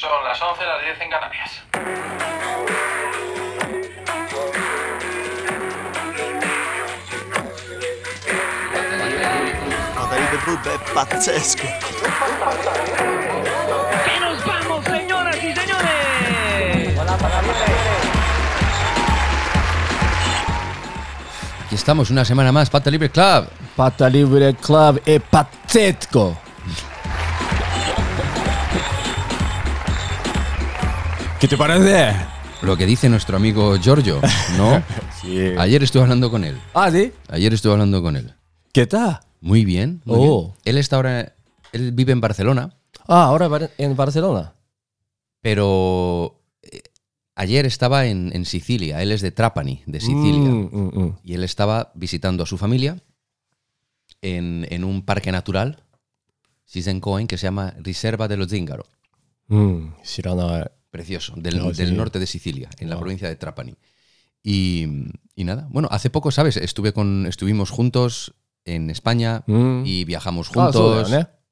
Son las 11, las 10 en Canarias. Patalibre Club è pazzesco. ¡Y nos vamos, señoras y señores! Aquí estamos una semana más, Pata Libre Club. Pata Libre Club è pazzesco. ¿Qué te parece? Lo que dice nuestro amigo Giorgio, ¿no? Sí. Ayer estuve hablando con él. Ah, ¿sí? Ayer estuve hablando con él. ¿Qué tal? Muy bien. Muy bien. Él está ahora, él vive en Barcelona, Ah, ahora en Barcelona. pero ayer estaba en Sicilia. Él es de Trapani, de Sicilia. Y él estaba visitando a su familia en un parque natural, Shizenkoen, que se llama Riserva dello Zingaro. 知らない。 Precioso, del sí. norte de Sicilia, en la provincia de Trapani. Y nada, bueno, hace poco, ¿sabes? Estuvimos juntos en España y viajamos juntos.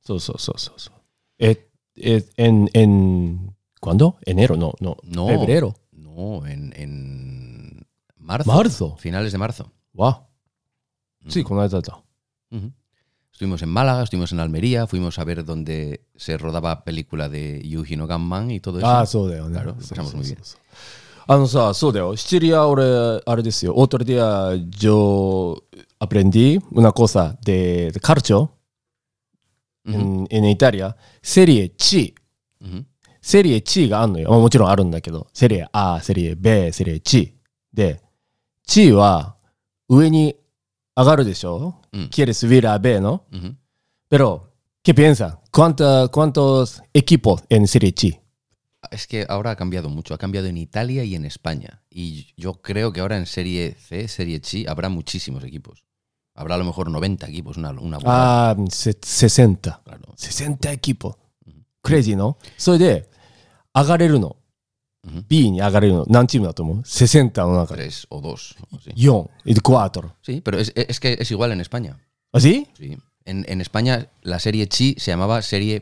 ¿Cuándo? ¿Enero? No. ¿Febrero? No, en marzo. ¿Marzo? Finales de marzo. Wow. Sí, con la data. Estuvimos en Málaga, estuvimos en Almería, fuimos a ver donde se rodaba película de Yuji no Gunman y todo eso. Ah, そうだよね。 Claro, lo pasamos muy bien. そうだよ。シチリア、俺、あれですよ。Otro día yo aprendí una cosa de calcio en Italia. Serie C. Serie C があるのよ。もちろんあるんだけど。Serie A、Serie B、Serie C。で、C は上に上がるでしょ、¿Quieres subir a B, no? Pero, ¿qué piensan? ¿Cuántos equipos en Serie C? Es que ahora ha cambiado mucho, ha cambiado en Italia y en España. Y yo creo que ahora en Serie C, Serie C, habrá muchísimos equipos. Habrá a lo mejor 90 equipos, una burrada. Ah, 60. Claro. 60 equipos. Crazy, ¿no? それで、上がれるの。B に上がれるの。何チームだと思う ?60 の中で。 3 o 2. O así. 4 y 4. Sí, pero es que es igual en España. ¿Ah, sí? Sí. En España la Serie C se llamaba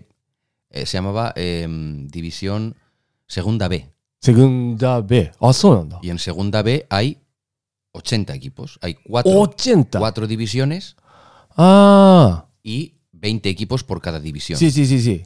División Segunda B. Segunda B. Ah, そうなんだ。 Y en Segunda B hay 80 equipos. Hay 4 divisiones y 20 equipos por cada división. Sí.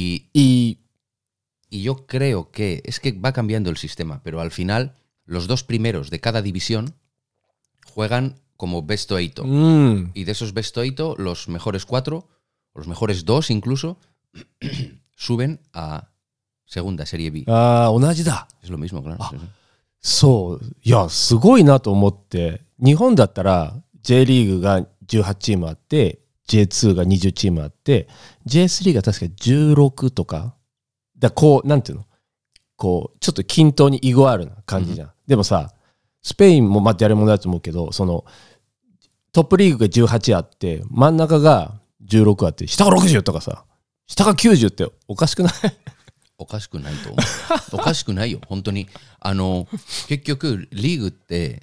Y yo creo que es que va cambiando el sistema, pero al final los 2 primeros de cada división juegan como best of 8. Y de esos best of 8, los mejores 4, o los mejores 2 incluso, suben a segunda, Serie B. ああ、同じだ。 Es lo mismo, claro. Sí, sí. そう。いや、すごいなと思って。日本だったら J リーグが18チームあって、J2 が20チームあって、J3 が確か16とか。だこう、なんていうのこう、ちょっと均等にイゴあるな感じじゃん。でもさ、スペインもまあ誰もだと思うけど、その、トップリーグが18あって、真ん中が16あって、下が60とかさ、下が90っておかしくない？ おかしくないと思う。おかしくないよ、本当に。結局、リーグって、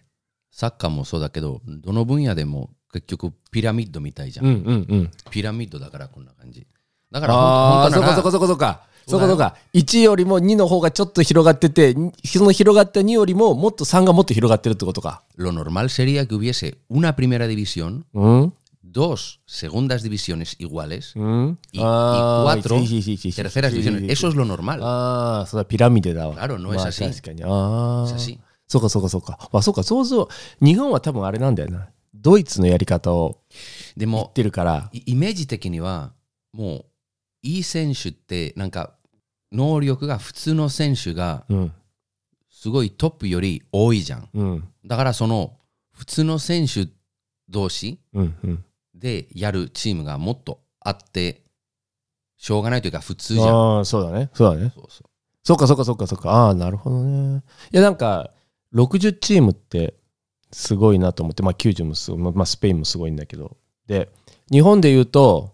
サッカーもそうだけど、どの分野でも結局ピラミッドみたいじゃん。ピラミッドだからこんな感じ。だから本当なら、そうか。1よりも2の方がちょっと広がってて、その広がった2よりももっと3がもっと広がってるってことか。 Lo normal sería que hubiese una primera división, 2 segundas divisiones iguales y 4 terceras divisiones. Eso es lo normal. ああ、そうだ、ピラミッドだわ。 Claro, no es así. 確かに。ああ。 Es así. そうか。そうか、そうそう。日本は多分あれなんだよな。ドイツのやり方を言ってるから。 イメージ的には、もう、いい選手ってなんか能力が普通の選手がすごいトップより多いじゃん、だからその普通の選手同士でやるチームがもっとあってしょうがないというか普通じゃん。 ああ、そうだね。そうか。ああ、なるほどね。いや、なんか60チームってすごいなと思って、まあ90もすごい、まあスペインもすごいんだけど、で日本で言うと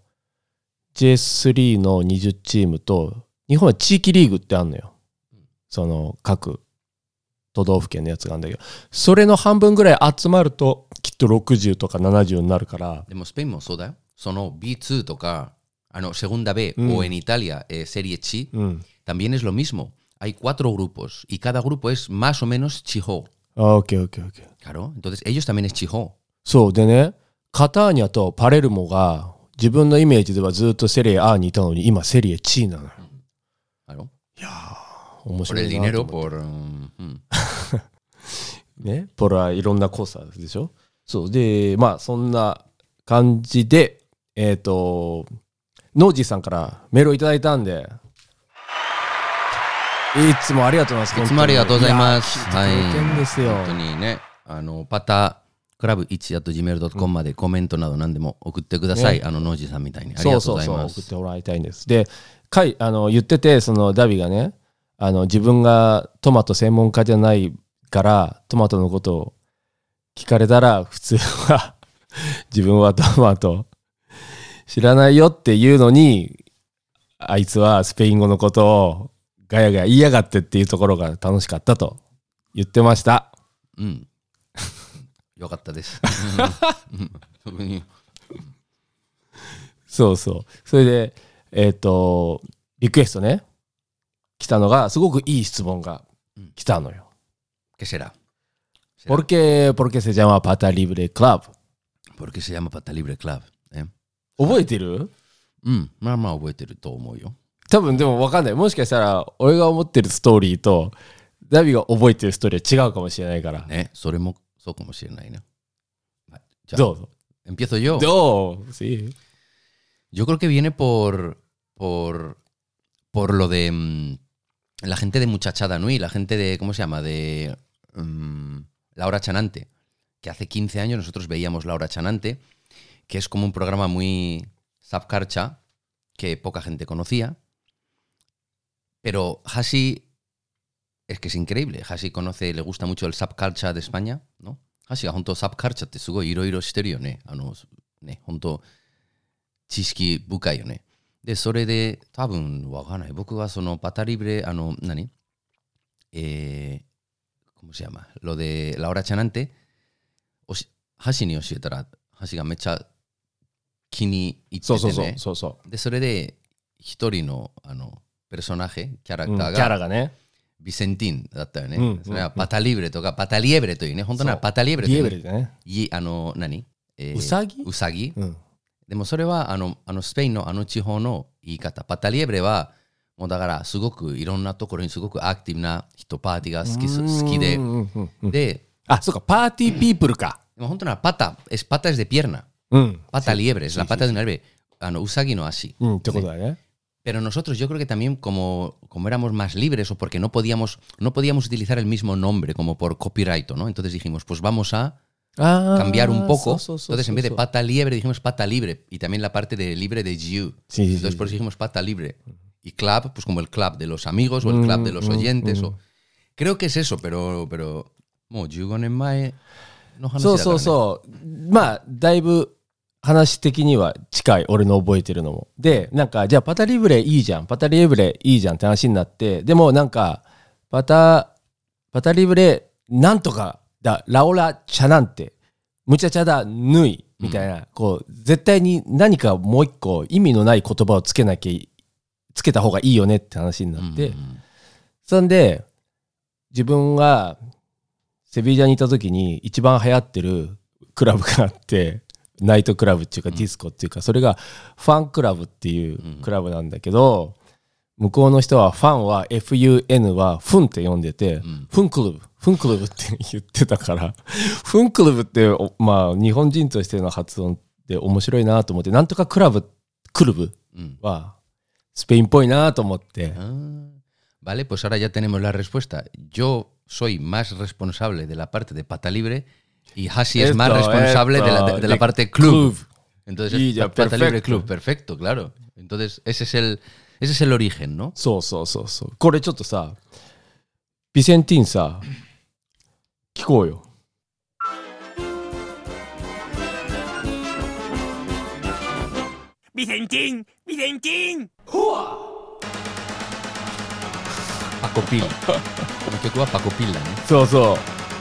J3 の20チームと、日本は地域リーグってあるのよ。その各都道府県のやつがあるんだけど、それの半分ぐらい集まるときっと60とか70になるから。 でもスペインもそうだよ。その B2 とか segunda B o en Italia Serie C, también es lo mismo. Hay 4 grupos y cada grupo es más o menos Chiho. OK。 Claro, entonces ellos también es Chiho. そうでね、カターニャとパレルモが自分のイメージではずっとセリエ A にいたのに今セリエ C なのよ。 Claro. いやー、面 Por 白 el いなと dinero, 思って por... ね、ポラいろんなコースあるでしょ。そうで、まあそんな感じで、ノージーさんからメールをいただいたんで、いつもありがとうございます。 いつもありがとうございます。 はい。聞いてくれてんですよ。 本当にね、パタクラブ1@gmail.com までコメントなど何でも送ってください。ノージーさんみたいに。ありがとうございます。 そう送ってもらいたいんです。で、言ってて、そのダビがね、自分がトマト専門家じゃないからトマトのことを聞かれたら普通は自分はトマト知らないよっていうのに、あいつはスペイン語のことをガヤガヤ言いやがってっていうところが楽しかったと言ってました。 うん。よかったです。 そうそう。それでリクエストね来たのがすごくいい質問が来たのよ。 ¿Qué será? ¿Por qué se llama Pata Libre Club? ¿Por qué se llama Pata Libre Club? 覚えてる？ うん、まあまあ覚えてると思うよ。 多分でも分かんない。もしかしたら俺が思ってるストーリーとダビが覚えてるストーリーは違うかもしれないから。 ね、それもそうかもしれないね。 じゃあどうぞ。 empiezo yo. Sí. Yo creo que viene por lo de la gente de Muchachada Nui, la gente de, ¿cómo se llama? De La Hora Chanante, que hace 15 años nosotros veíamos La Hora Chanante, que es como un programa muy subcarcha que poca gente conocía, pero Hashi es que es increíble. Hashi le gusta mucho el subcarcha de España, ¿no? Hashiが本当サブカルチャーってすごいいろいろしてるよね。本当知識深いよね。で、それで多分わかんない。僕はそのパタリブレ、¿cómo se llama? Lo de La Hora Chanante、ハシに教えたら、ハシがめっちゃ気に入っててね。 そう。 で、それで一人のペルソナヘ、キャラクターが、 キャラがね、 ビセンティンだったよね。それはパタリブレとかパタリエブレというね。本当ならパタリエブレという。 リエブレでね。 ウサギ、でもそれはスペインの地方の言い方。パタリエブレはもうだからすごくいろんなところにすごくアクティブな人、パーティーが好きで。で、 そうか、パーティーピープルか。 でも本当ならpata es de pierna. Pata liebre, es la pata de una liebre. Usagi no así. ってことだね。 Pero nosotros yo creo que también como éramos más libres o porque no podíamos utilizar el mismo nombre como por copyright, ¿no? Entonces dijimos, pues vamos a cambiar un poco. Entonces en vez de pata liebre dijimos pata libre y también la parte de libre de Jiu. Entonces por eso dijimos pata libre. Y club, pues como el club de los amigos o el club de los oyentes. Creo que es eso, peroもう15年前の話だからね。そう。 まあだいぶ話的には近い、俺の覚えてるのも。で、なんかじゃあパタリブレいいじゃん、パタリブレいいじゃんって話になって、でもなんかパタリブレなんとかだ、ラオラチャなんてムチャチャだヌイみたいな、こう絶対に何かもう一個意味のない言葉をつけた方がいいよねって話になって、そんで自分がセビージャにいた時に一番流行ってるクラブがあって、ナイトクラブっていうかディスコっていうか、それがファンクラブっていうクラブなんだけど、向こうの人はファンは FUN はフンって呼んでて、フンクルブって言ってたから、フンクルブってまあ日本人としての発音って面白いなと思って、なんとかクルブはスペインっぽいなと思って。 Vale, pues ahora ya tenemos la respuesta. Yo soy más responsable de la parte de pata libre y Hashi es más responsable de la parte club. Entonces es pata libre club, perfecto, claro. Entonces ese es el origen, ¿no? そう。これちょっとさ、ビセンティンさ、聞こうよ。 ビセンティン Pacopil. ¿Qué cuba Pacopil, ¿no? そう。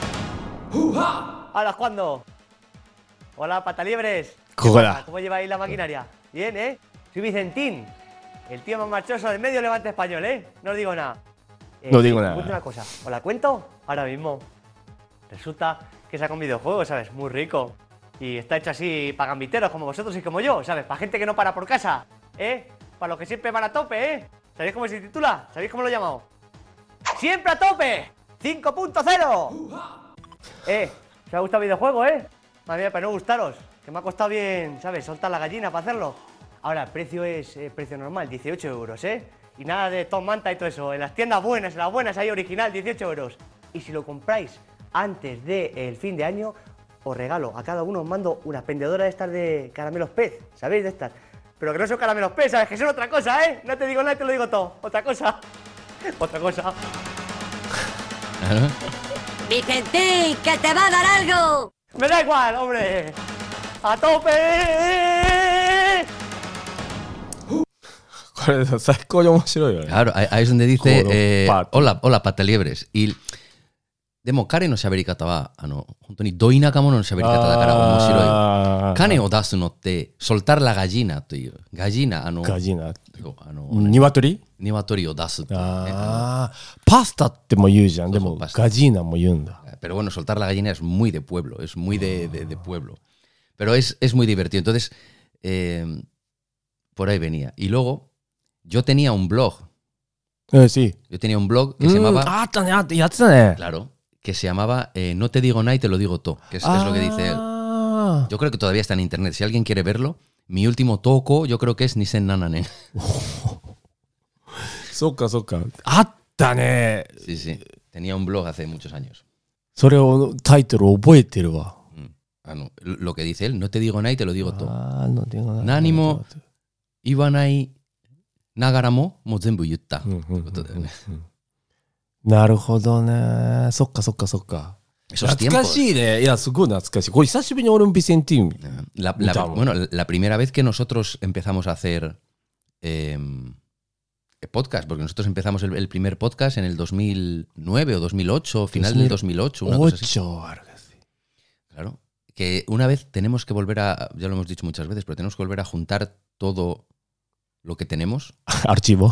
Hola, ¿cuándo? Hola, pataliebres. ¿Cómo lleváis la maquinaria? Bien, ¿eh? Soy Vicentín, el tío más marchoso del medio Levante español, ¿eh? No os digo nada. No digo Os nada. cuento una cosa, ¿os la cuento? Ahora mismo. Resulta que saca un videojuego, ¿sabes? Muy rico. Y está hecho así para gambiteros como vosotros y como yo, ¿sabes? Para gente que no para por casa, ¿eh? Para los que siempre van a tope, ¿eh? ¿Sabéis cómo se titula? ¿Sabéis cómo lo he llamado? ¡Siempre a tope! 5.0. ¿Os ha gustado el videojuego, Madre mía, para no gustaros. Que me ha costado bien, ¿sabes? Soltar la gallina para hacerlo. Ahora, el precio es precio normal, 18 euros, Y nada de Tom Manta y todo eso. En las tiendas buenas, ahí original, 18 euros. Y si lo compráis antes del fin de año, os regalo a cada uno, os mando una pendedora de estas de caramelos pez, ¿sabéis de estas? Pero que no son caramelos pez, ¿sabes? Que son otra cosa, No te digo nada, te lo digo todo. Otra cosa. Otra cosa. Vicentín, que te va a dar algo. Me da igual, hombre. ¡A tope! これ最高に面白いよね。 Claro, ahí es donde dice, Pato. hola, hola, pataliebres. Y でも彼の喋り方は本当にど田舎者の喋り方だから面白い。種を出すのって soltar la gallina というガジーナガジーナ。 そう鶏鶏を出すっていうね。 パスタっても言うじゃん。でもそうそうパスタガジーナも言うんだ。 Pero bueno, soltar la gallina es muy de pueblo, es muy de pueblo. Pero es muy divertido. Entonces, por ahí venía. Y luego, yo tenía un blog. Sí. Yo tenía un blog que se llamaba... あったね、やってたね。 Claro, que se llamaba No te digo nada y te lo digo todo, que es lo que dice él. Yo creo que todavía está en internet. Si alguien quiere verlo, mi último toco, yo creo que es Nisen Nananen. そっかそっか。あったね。 Sí, sí. Tenía un blog hace muchos años. それをタイトル覚えてるわ。 Lo que dice él, no te digo nada y te lo digo todo. のでがない。 何も言わないながらももう全部言ったってことだよね。 なるほどね。そっかそっかそっか。 Esos 懐か tiempos. しいね。いや、すごい懐かしい。これ久しぶりに俺もビセンティーン。 Bueno, la primera vez que nosotros empezamos a hacer podcast, porque nosotros empezamos el primer podcast en el 2009 o 2008, final del 2008, una cosa así. Claro. Que una vez tenemos que volver a, ya lo hemos dicho muchas veces, pero tenemos que volver a juntar todo lo que tenemos, archivo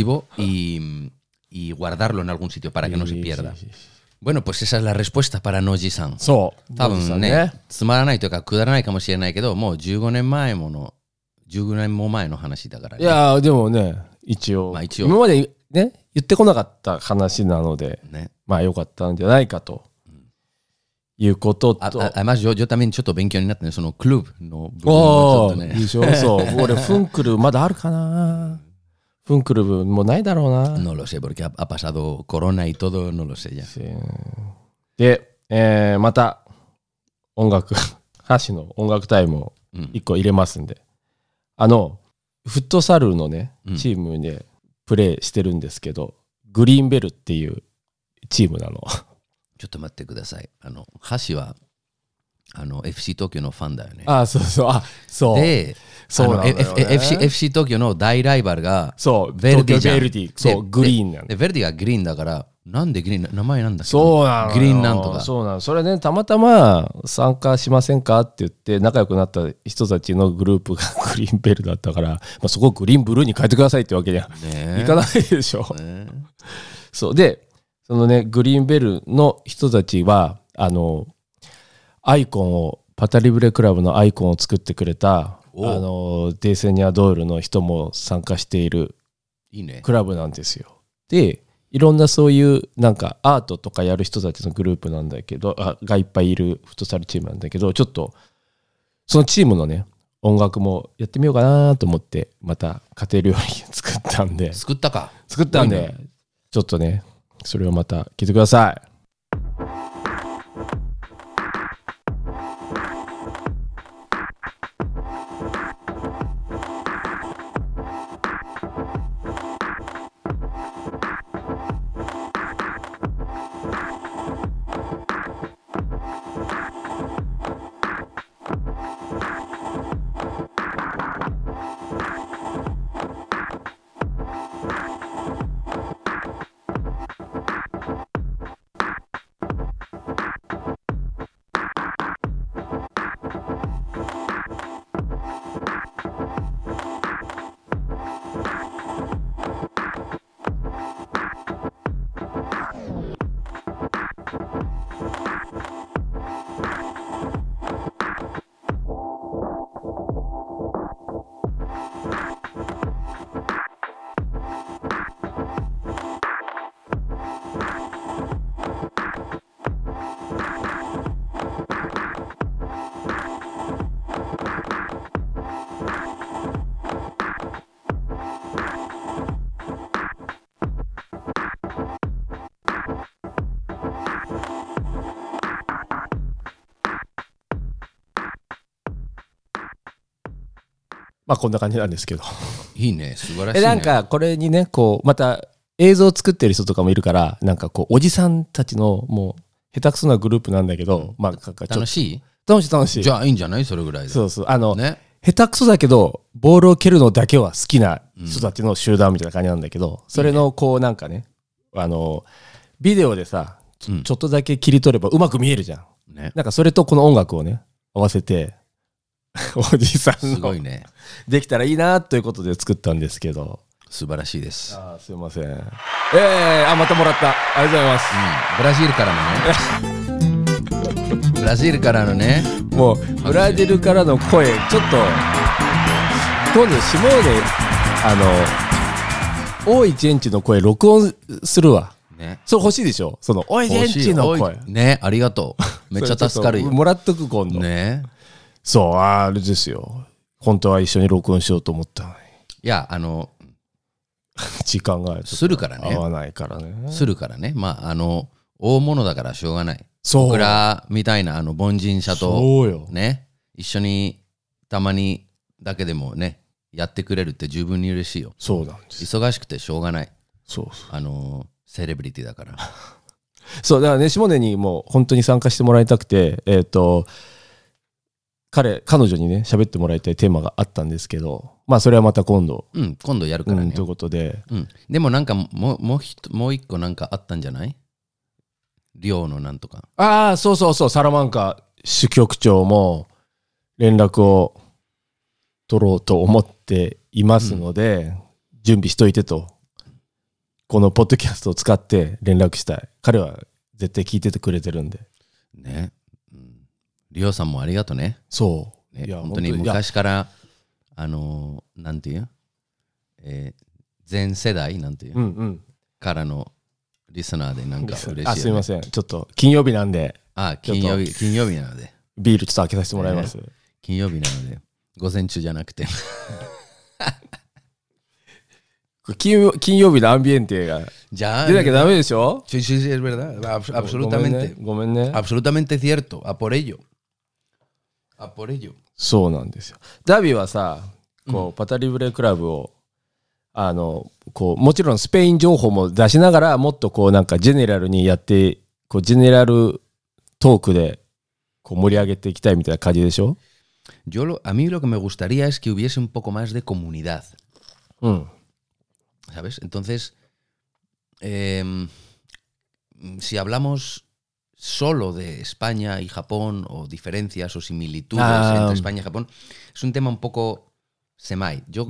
y guardarlo en algún sitio para que no se pierda. Bueno, pues esa es la respuesta para Noji-san. そう。 多分ね、つまらないというかくだらないかもしれないけど、もう15年も前の話だからね。 いや、でもね、一応、 まあ一応今までね、言ってこなかった話なので、 ね。 まあ良かったんじゃないかと。いうことと。 Además, yo también ちょっと勉強になったね、そのクルーブの部分もちょおっとね。 ー、いいでしょ。そう。俺、フンクルまだあるかな。フンクル部もうないだろうな。 No lo sé, porque ha pasado corona y todo, no lo sé ya. で、また音楽、箸の音楽タイムを1個入れますんで、フットサルのね、チームでプレーしてるんですけど、グリーンベルっていうチームなの。 ちょっと待ってください。箸はFC 東京のファンだよね。 あ、そうそう、あ、そう。 で、 そうなんだよね FC 東京の大ライバルがそう、 ヴェルディじゃん。 東京ヴェルディ、そう、グリーンなんだ。 で、ヴェルディがグリーンだから、なんでグリーン、名前なんだっけ？ そうなの。 グリーンなんとか。 そうなの。それね、たまたま参加しませんかって言って仲良くなった人たちのグループがグリーンベルだったから、まあ、そこをグリーンブルーに変えてくださいってわけにはいかないでしょ。そうで、そのね、グリーンベルの人たちはアイコンをパタリブレクラブのアイコンを作ってくれたデーセニア・ドールの人も参加しているクラブなんですよ。で、いろんなそういうなんかアートとかやる人たちのグループなんだけど、がいっぱいいるフットサルチームなんだけど、ちょっとそのチームのね、音楽もやってみようかなと思ってまた家庭料理作ったんで、 作ったんで、ちょっとね、それをまた聞いてください。 まあこんな感じなんですけど。 いいね、素晴らしいね。 なんかこれにね、こう、また映像を作ってる人とかもいるから、なんかこう、おじさんたちのもう、下手くそなグループなんだけど、まあ、 楽しい？ 楽しい。 じゃあいいんじゃない？それぐらいで。 そうそう。 ね。 下手くそだけど、ボールを蹴るのだけは好きな人たちの集団みたいな感じなんだけど、それのこうなんかね、ビデオでさ、ちょっとだけ切り取ればうまく見えるじゃん。 ね。 なんかそれとこの音楽をね、合わせて、おじさんすごのいね。 できたらいいなということで作ったんですけど。 素晴らしいです。 すいません。またもらった。ありがとうございます。 ブラジルからのね。ブラジルからのね。 もうブラジルからの声、ちょっと今度シモーネ大井ジェンチの声録音するわ。 ね。 それ欲しいでしょ。その大井ジェンチの声。 ね、ありがとう。めっちゃ助かるよ。 もらっとく今度。 ね。 そう、あれですよ。本当は一緒に録音しようと思ったのに。 いや、 時間がするからね。 合わないからね。 するからね。まあ、大物だからしょうがない。 そう。 僕らみたいな凡人者と、 そうよ。 ね、一緒にたまにだけでもね、やってくれるって十分に嬉しいよ。 そうなんです。 忙しくてしょうがない。 そう。 セレブリティだから。 そう、だからね、下根にも本当に参加してもらいたくて、彼女にね、喋ってもらいたいテーマがあったんですけど、まあそれはまた今度。 今度やるからね。 ということで。 でもなんかもう一個なんかあったんじゃない？寮のなんとか。 ああ、そうそうそう、サラマンカ支局長も連絡を取ろうと思っていますので、準備しといてと。このポッドキャストを使って連絡したい。彼は絶対聞いててくれてるんで。 ね。リオさんもありがとうね。 そう。 ね、本当に昔からなんていう、全世代なんていう、からのリスナーでなんか嬉しい、ね。 すいません。ちょっと金曜日なんで。 金曜日なので。 ビールちょっと開けさせてもらいます。 金曜日なので、午前中じゃなくて。 金曜日のアンビエンテが出なきゃダメでしょ？ Sí, es verdad. Absolutamente. ごめんね。 Absolutamente cierto. A por ello. そうなんですよ。ダビはさ、こうパタリブレクラブをこうもちろんスペイン情報も出しながら、もっとこうなんかジェネラルにやって、こうジェネラルトークでこう盛り上げていきたいみたいな感じでしょ？ A mí lo que me gustaría es que hubiese un poco más de comunidad. ¿Sabes? Entonces, si hablamos solo de España y Japón, o diferencias o similitudes entre España y Japón, es un tema un poco semai. Yo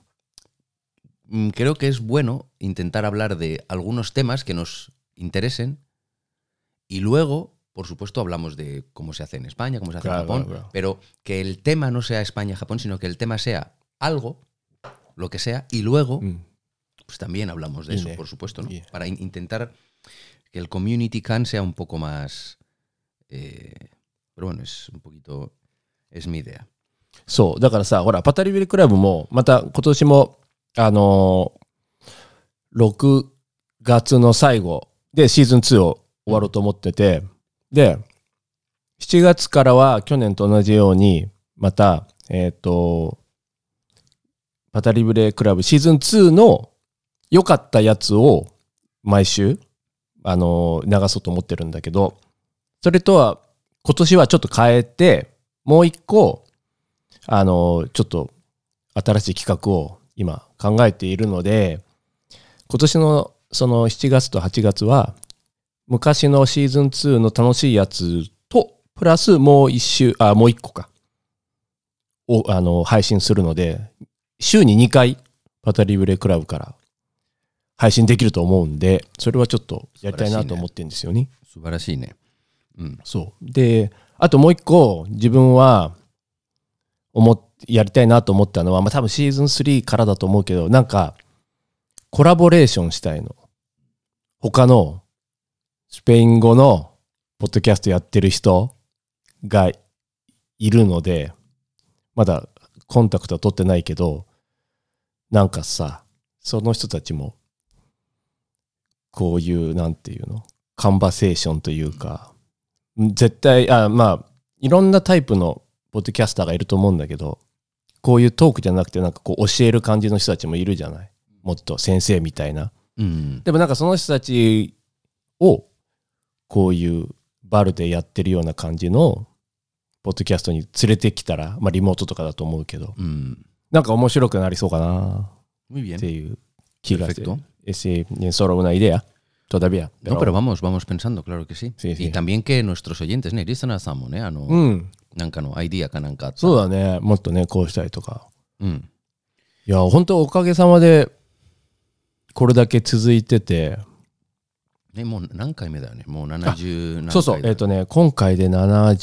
creo que es bueno intentar hablar de algunos temas que nos interesen y luego, por supuesto, hablamos de cómo se hace en España, cómo se hace en Japón, pero que el tema no sea España-Japón, sino que el tema sea algo, lo que sea, y luego... pues también hablamos de eso, por supuesto, ¿no? Para intentar que el community can sea un poco más... pero bueno, es un poquito... es mi idea. そう、だからさ、ほら、パタリビルクラブも、また今年も、6月の最後でシーズン2を終わろうと思ってて、で、7月からは去年と同じように、また、パタリブレクラブシーズン2の良かったやつを毎週流そうと思ってるんだけど、それとは今年はちょっと変えて、もう一個ちょっと新しい企画を今考えているので、今年のその7月と8月は昔のシーズン2の楽しいやつとプラスもう一個かを配信するので、週に2回パタリブレクラブから配信できると思うんで、それはちょっとやりたいなと思ってるんですよね。 素晴らしいね。 そう。で、あともう一個自分はやりたいなと思ったのは、多分シーズン3からだと思うけど、なんかコラボレーションしたいの。他のスペイン語のポッドキャストやってる人がいるので、まだコンタクトは取ってないけど、なんかさ、その人たちもこういうなんていうの、カンバセーションというか、絶対いろんなタイプのポッドキャスターがいると思うんだけど、 こういうトークじゃなくてなんかこう教える感じの人たちもいるじゃない。もっと先生みたいな。でもなんかその人たちをこういうバルでやってるような感じのポッドキャストに連れてきたら、まあリモートとかだと思うけど、なんか面白くなりそうかなっていう気がする。Sí, solo una idea todavía. Pero... No, pero vamos pensando, claro que sí. Sí, sí. Y también que nuestros oyentes,ね、リスナーさんもね、なんかのアイディアかなんかあった。 そうだね、もっとね、こうしたりとか。いや、本当おかげさまでこれだけ続いてて。 ね、もう何回目だよね。もう70何回。 そうそう、今回で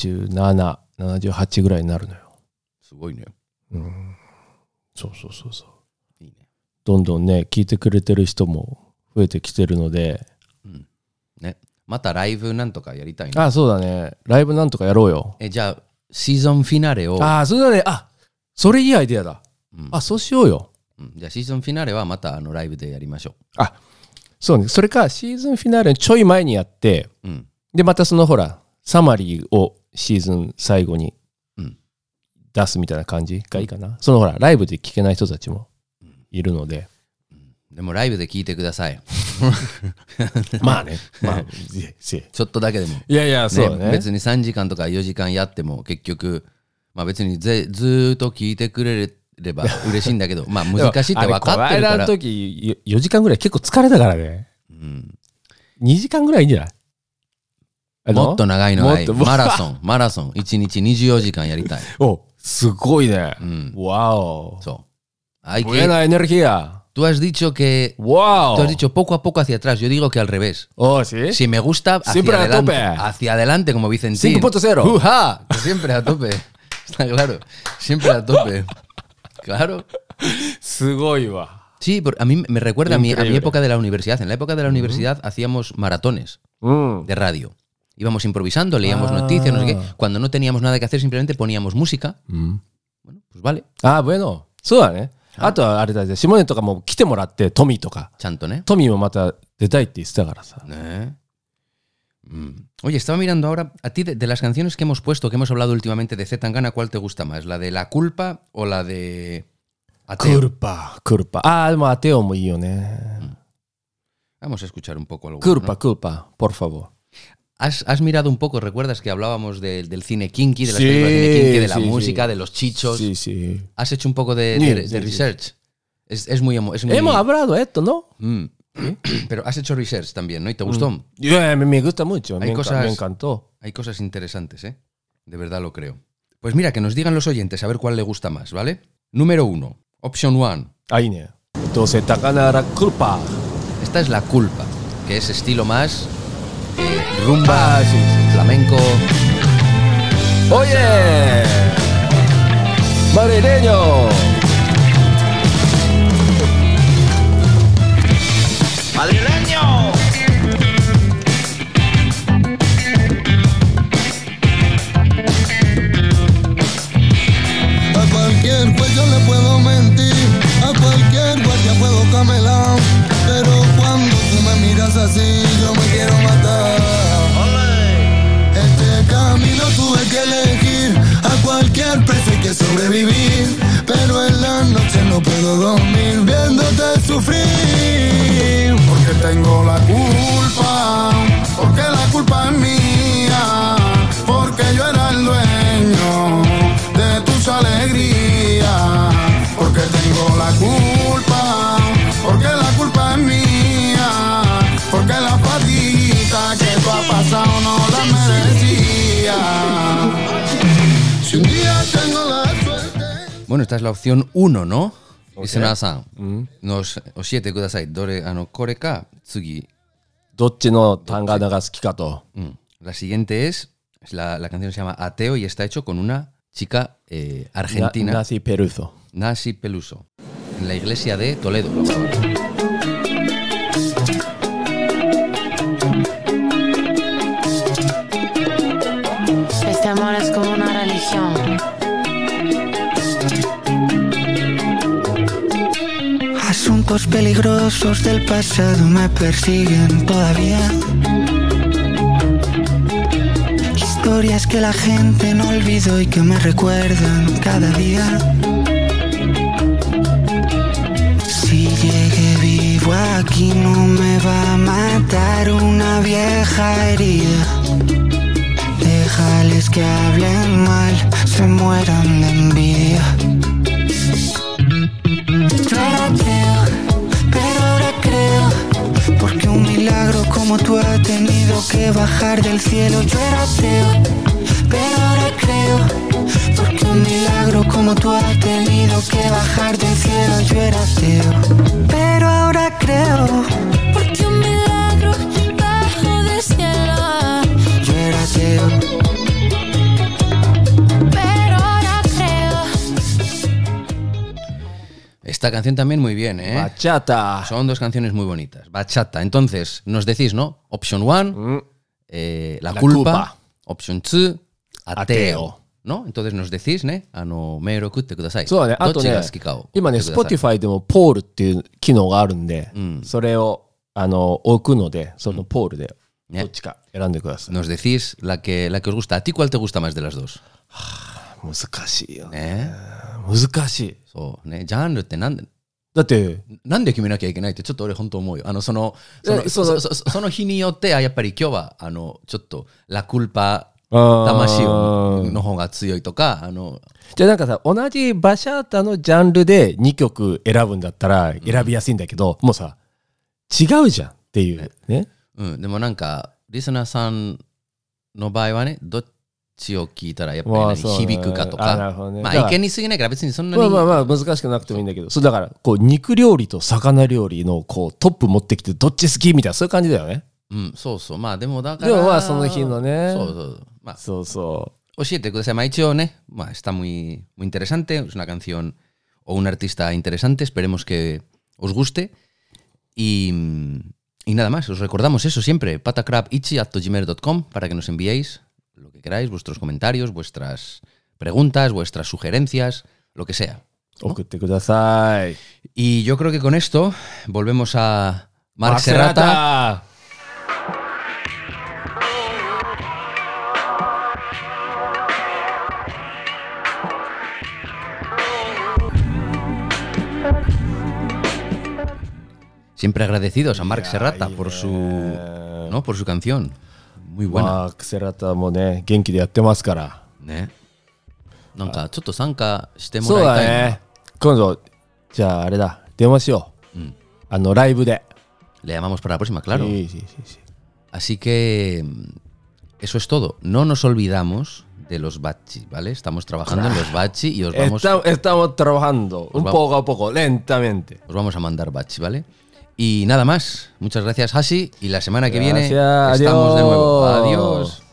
77、78ぐらいになるのよ。 すごいね。 そう。いいね。どんどんね、聞いてくれてる人も増えてきてるので。 ね。またライブなんとかやりたいね。 あ、そうだね。ライブなんとかやろうよ。 じゃあ、シーズンフィナーレを。 あ、そうだね。あ、それいいアイデアだ。あ、そうしようよ。 じゃあ、シーズンフィナーレはまたライブでやりましょう。 あ、そうね。それか、シーズンフィナーレのちょい前にやって、で、またそのほら、サマリーをシーズン最後に出すみたいな感じがいいかな。そのほら、ライブで聞けない人たちもいるので。 でもライブで聞いてください。 まあね。まあ、 ちょっとだけでも。 いやいや、そうね。 別に3時間とか4時間やっても結局、まあ別にずっと聞いてくれれば嬉しいんだけど、まあ難しいって分かってるから。この間の時4時間ぐらい結構疲れたからね。2時間ぐらいいいんじゃない？ もっと長いのがいい。マラソン。1日24時間やりたい。 お、すごいね。わお。 そう。 Buena energía. Tú has dicho que... ¡Wow! Tú has dicho poco a poco hacia atrás. Yo digo que al revés. Oh, ¿sí? Si me gusta, siempre hacia adelante. A tope. Hacia adelante, como Vicentín. 5.0. ¡Uja! Siempre a tope. Está claro. Siempre a tope. Claro. すごいわ。 Sí, a mí me recuerda a mi época de la universidad. En la época de la universidad hacíamos maratones de radio. Íbamos improvisando, leíamos noticias, no sé qué. Cuando no teníamos nada que hacer, simplemente poníamos música. Bueno, pues vale. Ah, bueno. そうだね。あとはあれだね、下根とかも来てもらって、トミーとか。 ちゃんとね。 トミーもまた出たいって言ってたからさ。 ね。Oye, estaba mirando ahora, a ti de las canciones que hemos puesto, que hemos hablado últimamente de Z Tangana, ¿cuál te gusta más? ¿La de La Culpa o la de Ateo? Culpa. Ah, でもAteoもいいよね。 Vamos a escuchar un poco algo. Culpa, por favor. ¿Has mirado un poco, recuerdas que hablábamos del cine kinky, de las películas de cine kinky, de la música, de los chichos? Sí. ¿Has hecho un poco de research? Es muy... Hemos hablado esto, ¿no? Pero has hecho research también, ¿no? ¿Y te gustó? Me gusta mucho, me encantó. Hay cosas interesantes, ¿eh? De verdad lo creo. Pues mira, que nos digan los oyentes a ver cuál le gusta más, ¿vale? Número 1, option 1. Ahí, ¿no? Entonces, Takana Culpa. Esta es La Culpa, que es estilo más... rumba, flamenco. ¡Oye! ¡Madrileño! ¡Madrileño! A cualquier juez yo le puedo mentir, a cualquier guardia puedo camelar, pero cuando tú me miras así yo me quiero matar. Este camino tuve que elegir, a cualquier precio hay que sobrevivir, pero en la noche no puedo dormir viéndote sufrir. Porque tengo la culpa, porque la culpa es mía, porque yo era el dueño de tus alegrías. Porque tengo la culpa, porque la culpa es mía, porque la fatiguita que tú has pasado no la merecía. Si un día tengo la suerte... Bueno, esta es la opción 1, ¿no? Listener-san, nos oshite kudasai. Dore, kore ka, tsugi. どっちのタンガナが好きかと。 La siguiente es, la canción se llama Ateo y está hecho con una chica argentina. Nasi Peluso. Nasi Peluso. En la iglesia de Toledo. Este amor es como una religión. Asuntos peligrosos del pasado me persiguen todavía. Historias que la gente no olvidó y que me recuerdan cada día. deja herida. Déjales que hablen mal, se mueran de envidia. Yo era ateo, pero ahora creo, porque un milagro como tú ha tenido que bajar del cielo. Yo era ateo, pero ahora creo, porque un milagro como tú ha tenido que bajar del cielo. Yo era ateo, pero ahora creo, porque un milagro bajó del cielo. Yo era ateo, pero ahora creo. Esta canción también muy bien, ¿eh? Bachata. Son dos canciones muy bonitas. Bachata. Entonces, nos decís, ¿no? Option 1, la culpa. Option 2, ateo. ¿No? Entonces nos decís,ね、メール送ってください。 そうだね。あとね、今ね、Spotify でもポールっていう機能があるんで、それを置くので、そのポールでどっちか選んでください。 Nos decís la que os gusta. ¿A ti cuál te gusta más de las dos? 難しいよね。 ね。 難しい。 そうね。ジャンルってなんで決めなきゃいけないってちょっと俺本当思うよ。その日によってやっぱり今日はちょっとラクルパ魂の方が強いとかじゃあなんかさ、同じバシャータのジャンルで2曲選ぶんだったら選びやすいんだけど、もうさ違うじゃんっていうね。 でもなんかリスナーさんの場合はね、どっちを聞いたらやっぱり響くかとか、まあ意見に過ぎないから別にそんなにまあ難しくなくてもいいんだけど、そうだからこう肉料理と魚料理のこうトップ持ってきてどっち好きみたいなそういう感じだよね。 そうそう。まあでもだからまあその日のね。 まあそうそう。 教えてください。まあ一応ね、まあestá muy interesante, es una canción o un artista interesante, esperemos que os guste y nada más, os recordamos eso siempre, patacrabichi@gmail.com para que nos enviéis lo que queráis, vuestros comentarios, vuestras preguntas, vuestras sugerencias, lo que sea, ¿no? 送ってください。 Y yo creo que con esto volvemos a Marc Serrata. Siempre agradecidos a Marc Serrata por su canción. Muy buena. マーク・セラタもね、元気でやってますから。 ね。なんかちょっと参加してもらいたいな。 そうだね。今度、じゃああれだ、電話しよう。ライブで。 Le llamamos para la próxima, claro. Sí. Así que eso es todo. No nos olvidamos de los bachi, ¿vale? Estamos trabajando en los bachi y os vamos... Estamos trabajando poco a poco, lentamente. Os vamos a mandar bachi, ¿vale? Y nada más. Muchas gracias, Hashi. Y la semana que viene estamos de nuevo. Adiós.